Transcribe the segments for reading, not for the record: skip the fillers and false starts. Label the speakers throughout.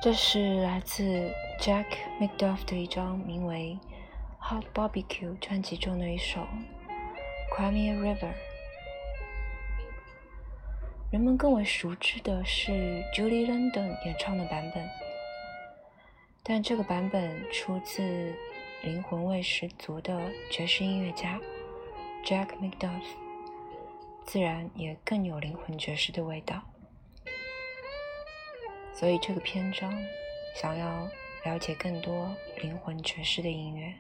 Speaker 1: 这是来自 Jack McDuff 的一张名为《Hot Barbecue》专辑中的一首 Crimea River。人们更为熟知的是 Julie London 演唱的版本，但这个版本出自灵魂味十足的爵士音乐家 Jack McDuff， 自然也更有灵魂爵士的味道。所以这个篇章想要了解更多灵魂爵士的音乐。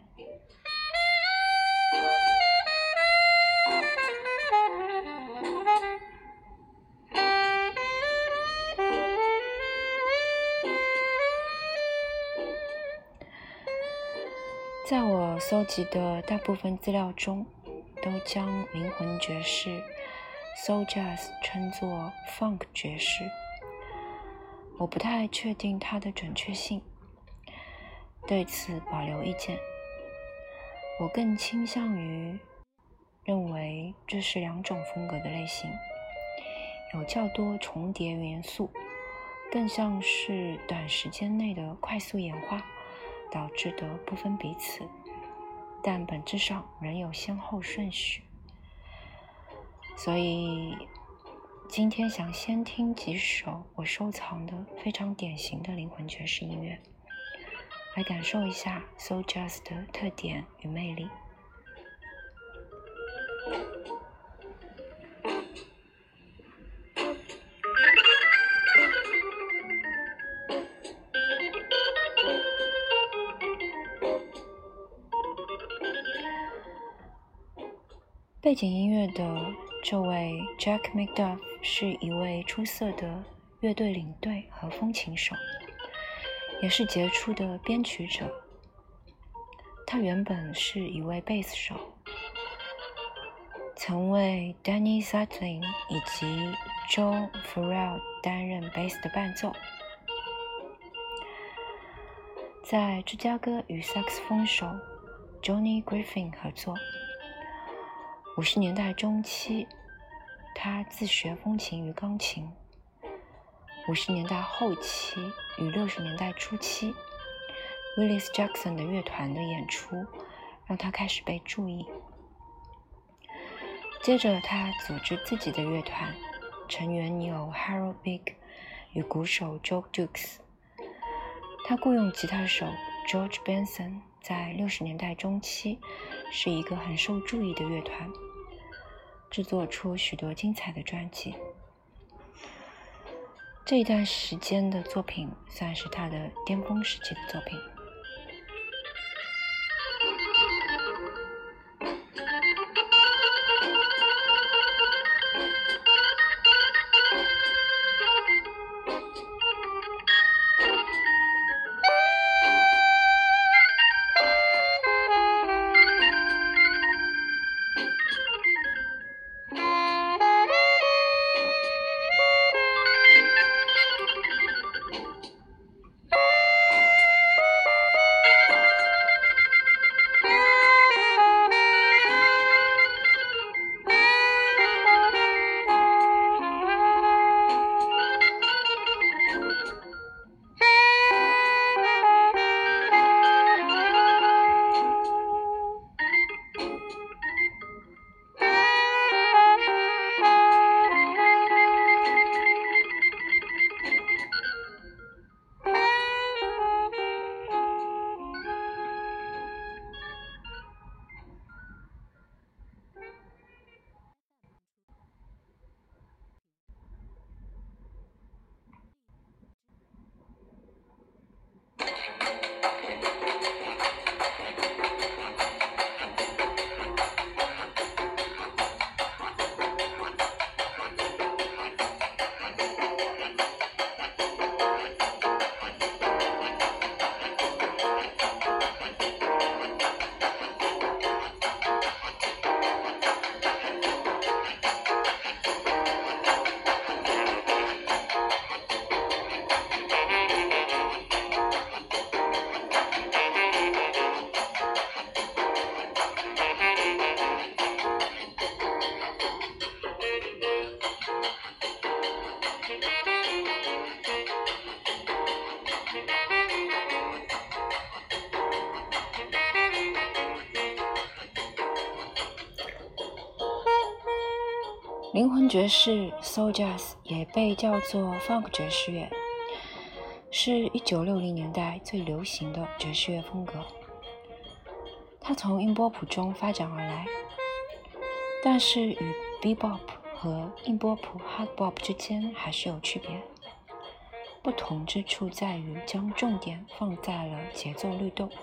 Speaker 1: 在我搜集的大部分资料中，都将灵魂爵士 Soul Jazz 称作 Funk 爵士。我不太确定它的准确性，对此保留意见。我更倾向于认为这是两种风格的类型，有较多重叠元素，更像是短时间内的快速演化导致的不分彼此，但本质上仍有先后顺序。所以今天想先听几首我收藏的非常典型的灵魂爵士音乐，来感受一下 Soul Jazz 的特点与魅力。背景音乐的这位 Jack McDuff 是一位出色的乐队领队和风琴手，也是杰出的编曲者。他原本是一位贝斯手，曾为 Danny Sutherland 以及 Joe Farrell 担任贝斯的伴奏。在芝加哥与萨克斯风手 Johnny Griffin 合作。50年代中期，他自学风琴与钢琴。50年代后期与60年代初期 Willis Jackson 的乐团的演出让他开始被注意。接着他组织自己的乐团，成员有 Harold Big 与鼓手 Joe Dukes。他雇佣吉他手 George Benson， 在60年代中期是一个很受注意的乐团，制作出许多精彩的专辑。这一段时间的作品算是他的巅峰时期的作品。 灵魂爵士 Soul Jazz 也被叫做 Funk 爵士乐，是1960年代最流行的爵士乐风格。它从音波谱中发展而来，但是与 Bebop 和硬波谱 Hard Bop 之间还是有区别。不同之处在于将重点放在了节奏律动。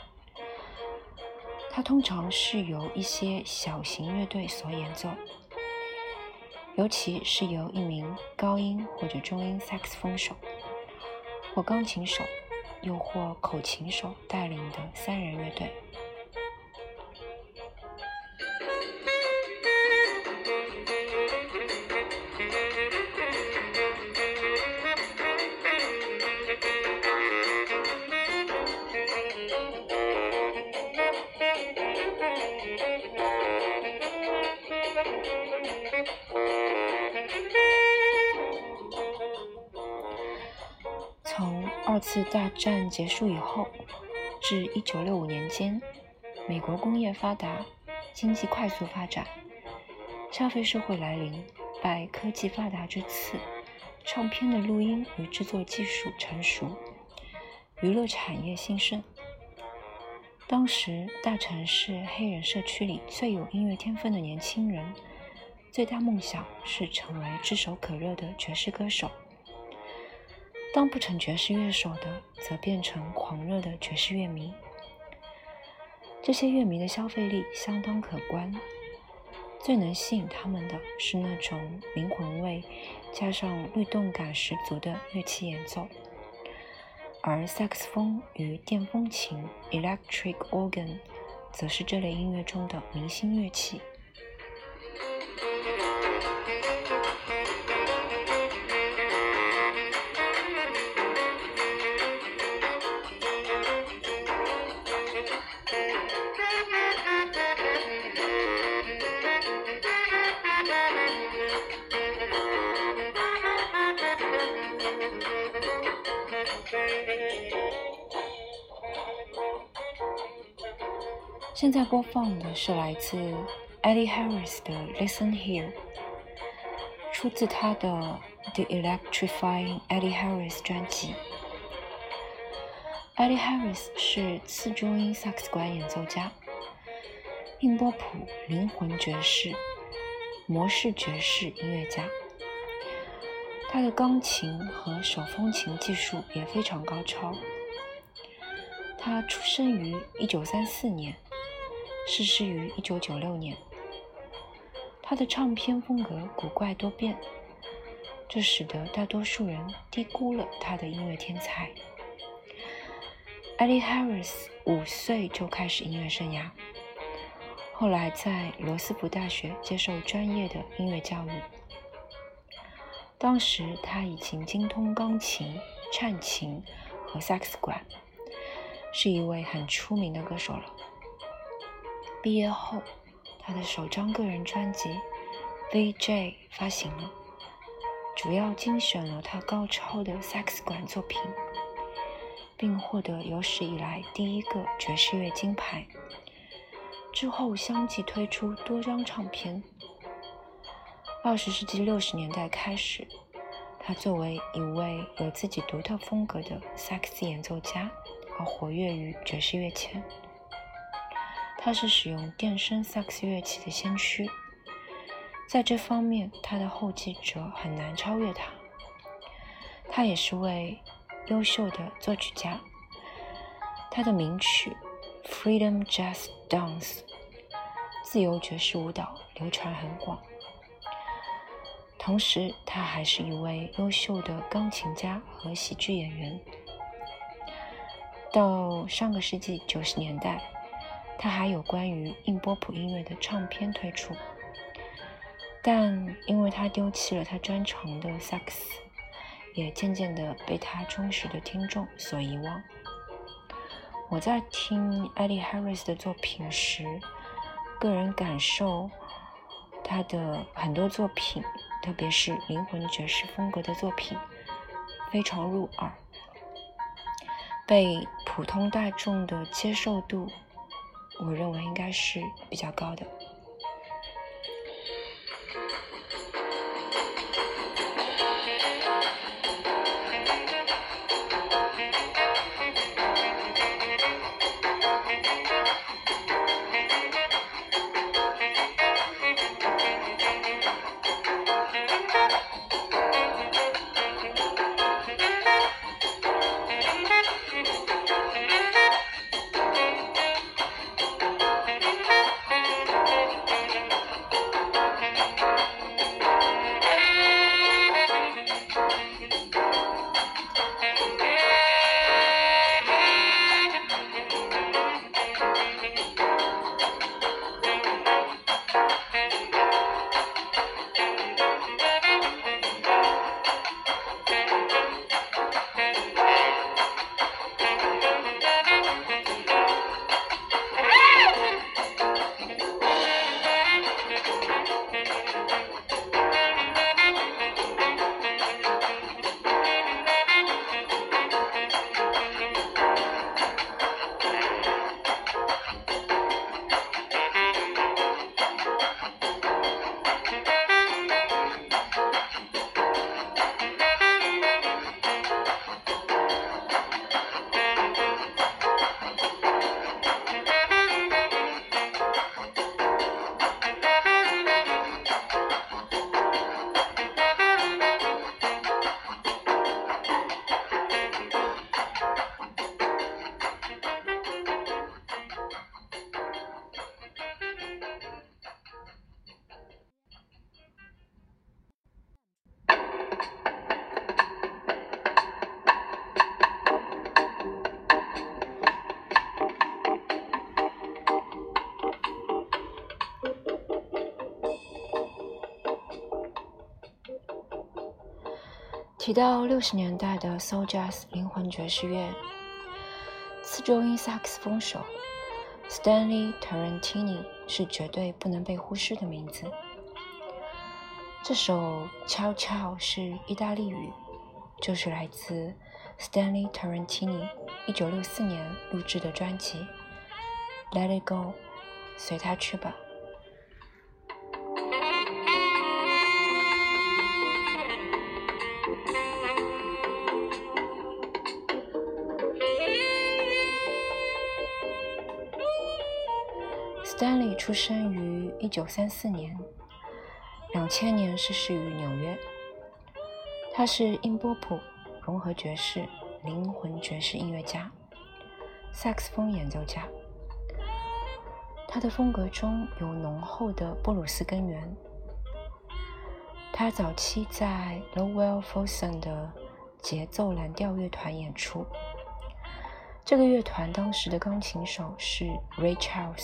Speaker 1: 它通常是由一些小型乐队所演奏，尤其是由一名高音或者中音萨克斯风手，或钢琴手，又或口琴手带领的3人乐队。从2次大战结束以后至1965年间，美国工业发达，经济快速发展，消费社会来临，拜科技发达之赐，唱片的录音与制作技术成熟，娱乐产业兴盛。当时大城市黑人社区里最有音乐天分的年轻人，最大梦想是成为炙手可热的爵士歌手。当不成爵士乐手的，则变成狂热的爵士乐迷。这些乐迷的消费力相当可观，最能吸引他们的是那种灵魂味加上律动感十足的乐器演奏，而萨克斯风与电风琴 （electric organ） 则是这类音乐中的明星乐器。现在播放的是来自 Eddie Harris 的 Listen Here， 出自他的 The Electrifying Eddie Harris 专辑。Eddie Harris 是次中音萨克斯管演奏家，硬波谱、灵魂爵士、模式爵士音乐家。他的钢琴和手风琴技术也非常高超。他出生于1934年，逝世于1996年。他的唱片风格古怪多变，这使得大多数人低估了他的音乐天才。Eddie Harris 5岁就开始音乐生涯，后来在罗斯福大学接受专业的音乐教育。当时他已经精通钢琴、颤琴和萨克斯管，是一位很出名的歌手了。毕业后，他的首张个人专辑 VJ 发行了，主要精选了他高超的萨克斯管作品，并获得有史以来第1个爵士乐金牌。之后相继推出多张唱片。20世纪60年代开始，他作为一位有自己独特风格的萨克斯演奏家而活跃于爵士乐前。他是使用电声萨克斯乐器的先驱，在这方面他的后继者很难超越他。他也是位优秀的作曲家，他的名曲 Freedom Jazz Dance 自由爵士舞蹈流传很广。同时他还是一位优秀的钢琴家和喜剧演员。到上个世纪90年代，他还有关于硬波谱音乐的唱片推出，但因为他丢弃了他专长的萨克斯，也渐渐地被他忠实的听众所遗忘。我在听 Eddie Harris 的作品时，个人感受他的很多作品，特别是灵魂爵士风格的作品，非常入耳，被普通大众的接受度，我认为应该是比较高的。 提到60年代的 Soul Jazz 灵魂爵士乐，四周音萨克斯风手 Stanley Tarantini 是绝对不能被忽视的名字。这首 Ciao Ciao 是意大利语，就是来自 Stanley Tarantini 1964年录制的专辑 Let It Go， 随它去吧。Stanley 出生于1934年，2000年逝世于纽约。他是英波普、融合爵士、灵魂爵士音乐家、萨克斯风演奏家。他的风格中有浓厚的布鲁斯根源。他早期在 Lowell Fulson 的节奏蓝调乐团演出，这个乐团当时的钢琴手是 Ray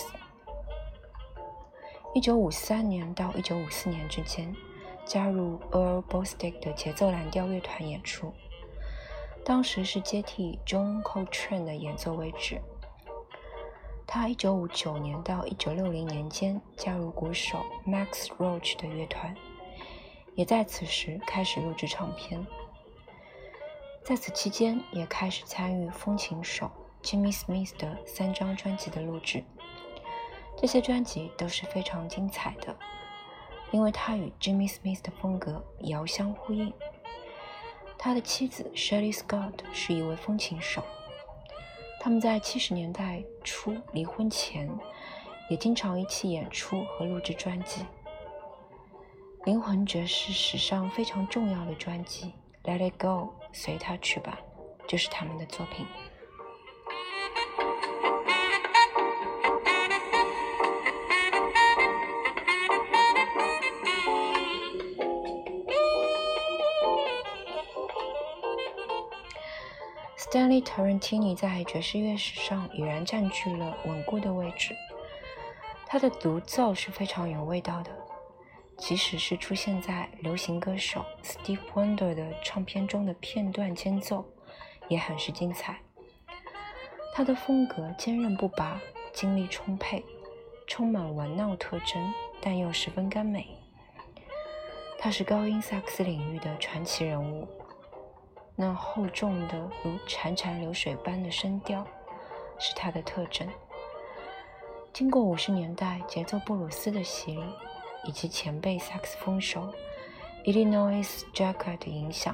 Speaker 1: Charles。1953年到1954年之间，加入 Earl Bostic 的节奏蓝调乐团演出，当时是接替 John Coltrane 的演奏位置。他1959年到1960年间加入鼓手 Max Roach 的乐团，也在此时开始录制唱片。在此期间，也开始参与风琴手 Jimmy Smith 的3张专辑的录制。这些专辑都是非常精彩的，因为他与 Jimmy Smith 的风格遥相呼应。他的妻子 Shelley Scott 是一位风琴手，他们在70年代初离婚前也经常一起演出和录制专辑。灵魂爵士史上非常重要的专辑 Let It Go， 随它去吧，就是他们的作品。Stanley Tarantini 在爵士乐史上已然占据了稳固的位置。他的独奏是非常有味道的，即使是出现在流行歌手 Steve Wonder 的唱片中的片段间奏，也很是精彩。他的风格坚韧不拔，精力充沛，充满玩闹特征，但又十分甘美。他是高音萨克斯领域的传奇人物。那厚重的如潺潺流水般的声调是它的特征。经过50年代节奏布鲁斯的洗礼，以及前辈萨克斯风手 Illinois Jacquard 的影响，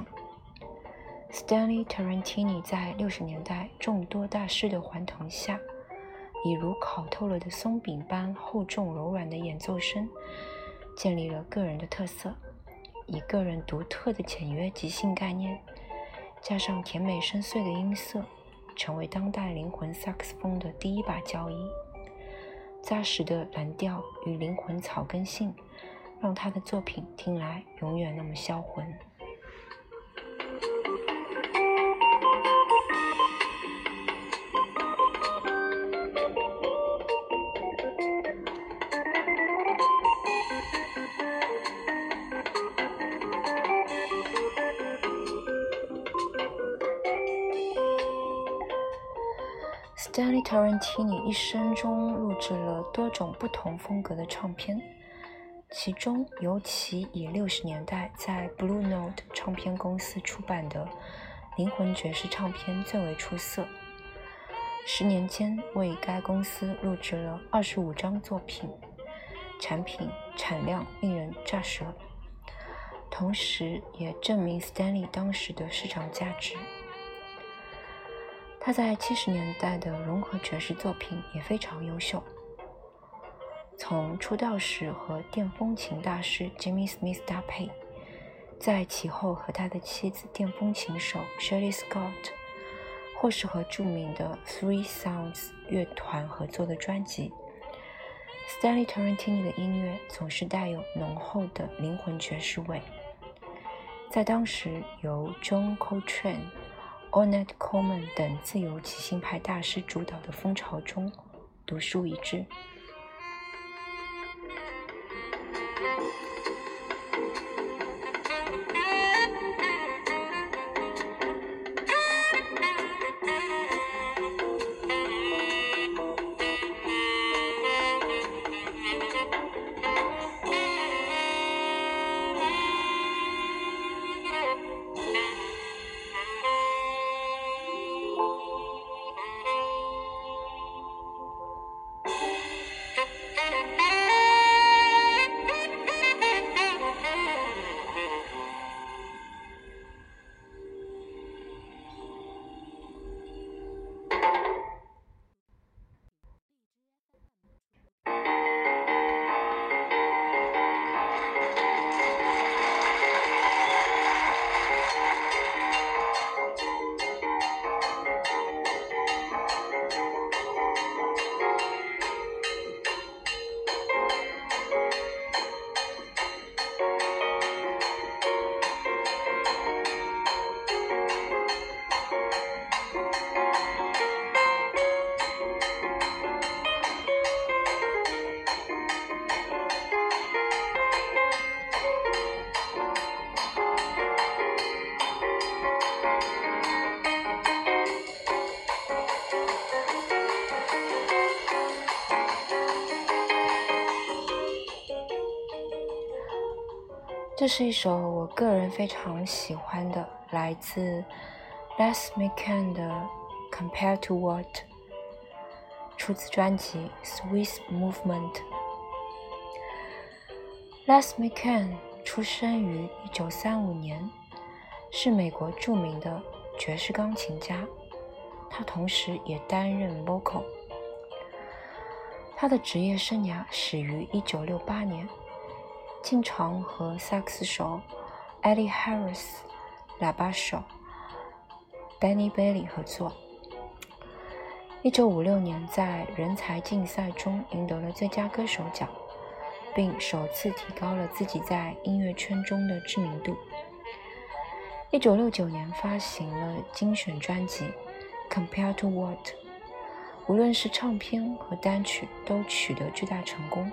Speaker 1: Stanley Tarantini 在60年代众多大师的环同下，以如烤透了的松饼般厚重柔软的演奏声，建立了个人的特色，以个人独特的简约即兴概念加上甜美深邃的音色，成为当代灵魂萨克斯风的第一把交椅。扎实的蓝调与灵魂草根性，让他的作品听来永远那么销魂。Stanley Tarantini 一生中录制了多种不同风格的唱片，其中尤其以60年代在 Blue Note 唱片公司出版的灵魂爵士唱片最为出色。10年间为该公司录制了25张作品，产品产量令人咋舌，同时也证明 Stanley 当时的市场价值。他在70年代的融合爵士作品也非常优秀，从出道时和电风琴大师 Jimmy Smith 搭配，在其后和他的妻子电风琴手 Shelley Scott， 或是和著名的 Three Sounds 乐团合作的专辑， Stanley Tarantini 的音乐总是带有浓厚的灵魂爵士味，在当时由 John Coltrane、Ornette Coleman 等自由即兴派大师主导的风潮中独树一帜。 这是一首我个人非常喜欢的，来自 Les McCann 的 Compared to What， 出自专辑 Swiss Movement。Les McCann 出生于1935年，是美国著名的爵士钢琴家，他同时也担任 vocal。他的职业生涯始于1968年，经常和萨克斯手 Eddie Harris、喇叭手 Benny Bailey 合作。1956年在人才竞赛中赢得了最佳歌手奖，并首次提高了自己在音乐圈中的知名度。1969年发行了精选专辑 Compared to What， 无论是唱片和单曲都取得巨大成功。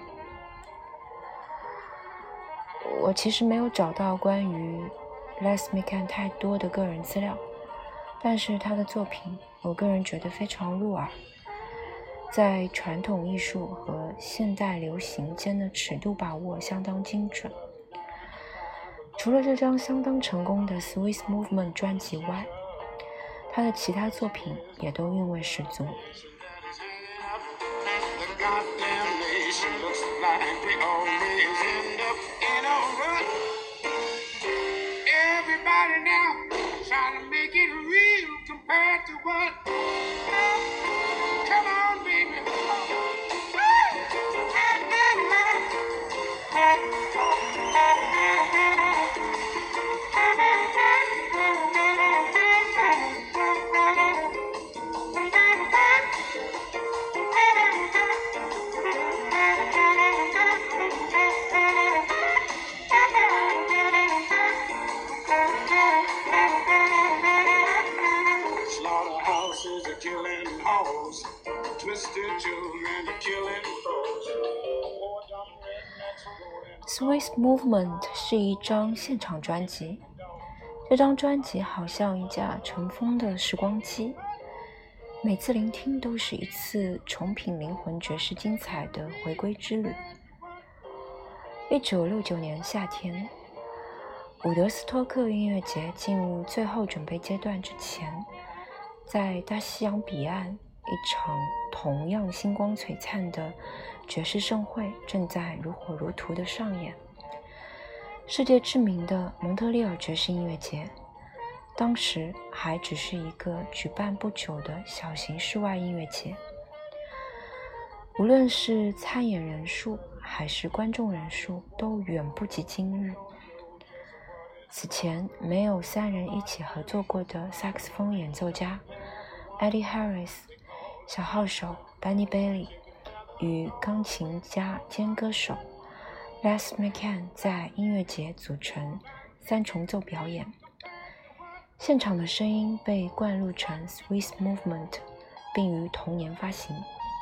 Speaker 1: 我其实没有找到关于 Les McCann 太多的个人资料，但是他的作品我个人觉得非常入耳，在传统艺术和现代流行间的尺度把握相当精准。除了这张相当成功的 Swiss Movement 专辑外，他的其他作品也都韵味十足。Swiss Movement 是一张现场专辑，这张专辑好像一架尘封的时光机，每次聆听都是一次重品灵魂爵士精彩的回归之旅。1969年夏天，伍德斯托克音乐节进入最后准备阶段之前，在大西洋彼岸，一场同样星光璀璨的爵士盛会正在如火如荼地上演。世界知名的蒙特利尔爵士音乐节，当时还只是一个举办不久的小型室外音乐节。无论是参演人数还是观众人数，都远不及今日。此前没有3人一起合作过的萨克斯风演奏家 Eddie Harris、 小号手 Benny Bailey 与钢琴家兼歌手 Les McCann 在音乐节组成3重奏表演，现场的声音被灌录成 Swiss Movement， 并于同年发行。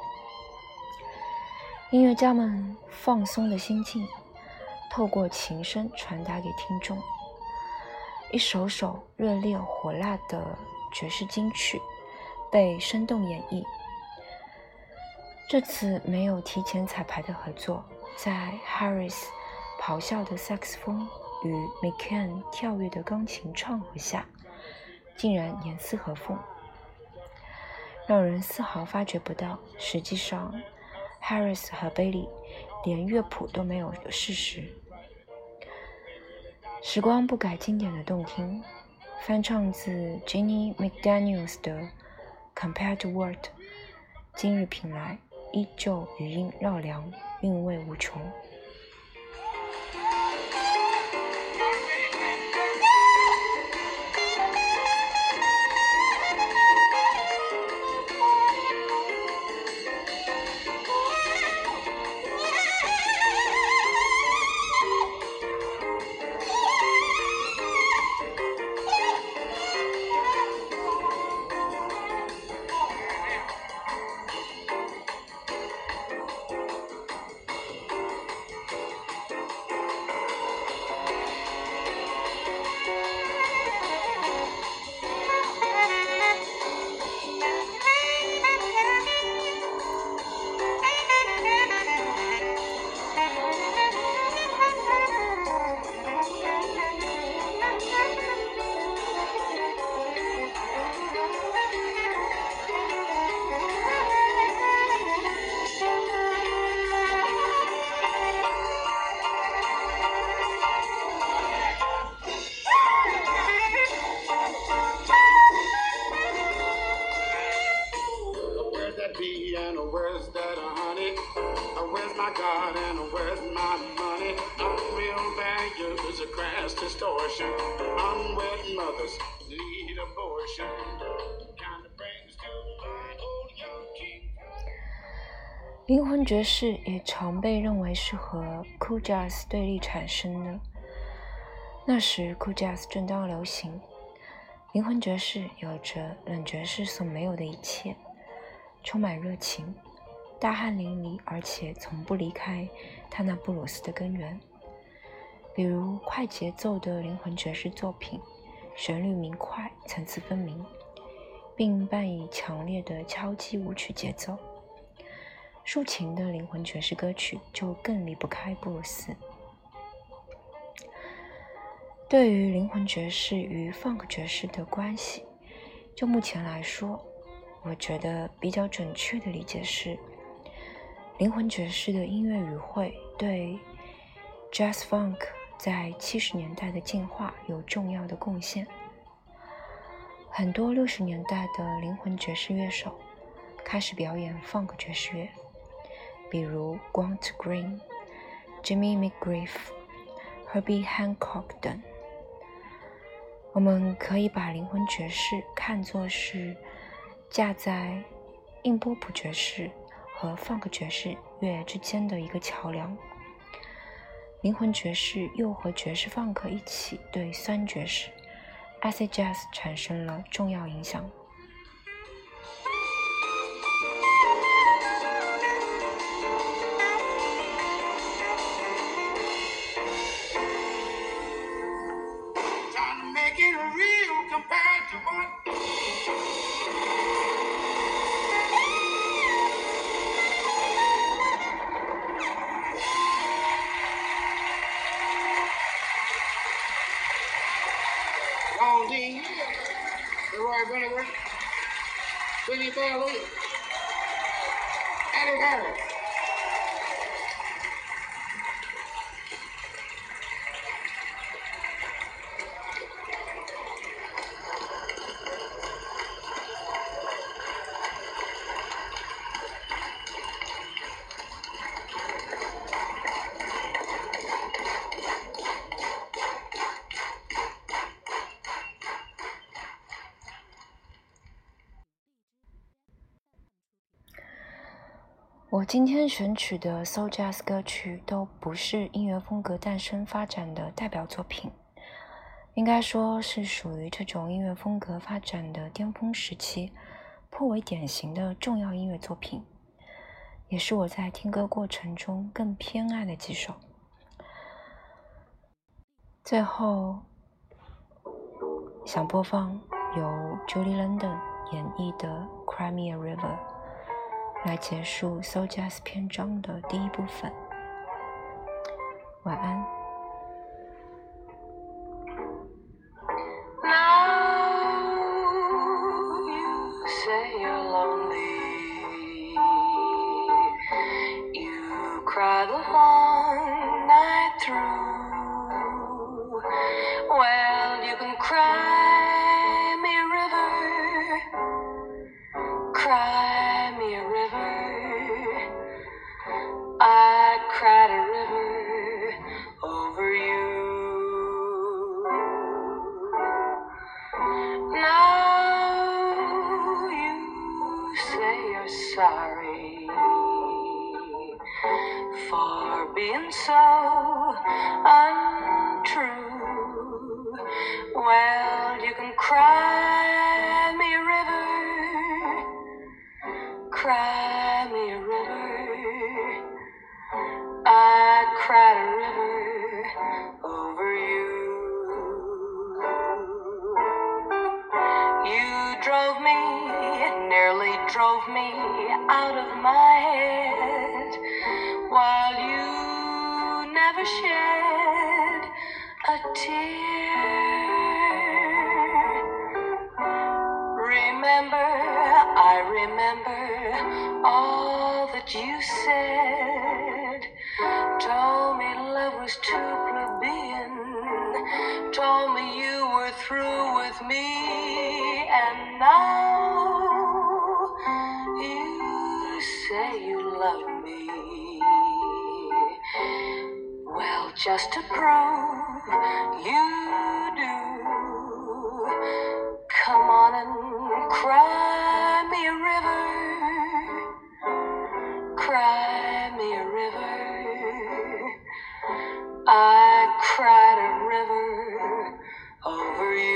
Speaker 1: 音乐家们放松的心境透过琴声传达给听众，一首首热烈火辣的爵士金曲被生动演绎。这次没有提前彩排的合作，在 Harris 咆哮的萨克斯风与 McCann 跳跃的钢琴唱和下，竟然严丝合缝，让人丝毫发觉不到实际上 Harris 和 Bailey 连乐谱都没有的事实。时光不改经典的动听，翻唱自 Ginny McDaniels 的 Compared to What， 今日品来依旧余音绕梁，韵味无穷。
Speaker 2: my garden, where's my money? Unreal values, a crass distortion. Unwed mothers need abortion. Kind of brings to my old young king.
Speaker 1: 灵魂爵士也常被认为是和 Cool Jazz 对立产生的。那时 Cool Jazz 正当流行，灵魂爵士有着冷爵士所没有的一切，充满热情，大汗淋漓，而且从不离开他那布鲁斯的根源。比如快节奏的灵魂爵士作品，旋律明快，层次分明，并伴以强烈的敲击舞曲节奏。抒情的灵魂爵士歌曲就更离不开布鲁斯。对于灵魂爵士与 funk 爵士的关系，就目前来说，我觉得比较准确的理解是，灵魂爵士的音乐语汇对 jazz funk 在70年代的进化有重要的贡献。很多60年代的灵魂爵士乐手开始表演 funk 爵士乐，比如 Grant Green、Jimmy McGriff、Herbie Hancock 等。我们可以把灵魂爵士看作是架在硬波普爵士和 funk 爵士乐之间的一个桥梁。灵魂爵士又和爵士 funk 一起对酸爵士 acid jazz 产生了重要影响。
Speaker 2: Leroy Bennett, Billy Bailey, Eddie Harris.
Speaker 1: 我今天选取的 Soul Jazz 歌曲都不是音乐风格诞生发展的代表作品，应该说是属于这种音乐风格发展的巅峰时期颇为典型的重要音乐作品，也是我在听歌过程中更偏爱的几首。最后想播放由 Julie London 演绎的 Cry Me a River，来结束 Soul Jazz 篇章的第一部分。晚安。
Speaker 3: Cry the long night through. Well, you can cry me a river, cry me a river. I cried a river over you. Now you say you're sorry for being so untrue. Well, you can cry me a river, cry me a river. I cried a river over you. You drove me, nearly drove me out of my head, while you never shed a tear. Remember, I remember all that you said. Told me love was too plebeian, told me you were through with me, and now you say you love me. just to prove you do. Come on and cry me a river, cry me a river. I cried a river over you.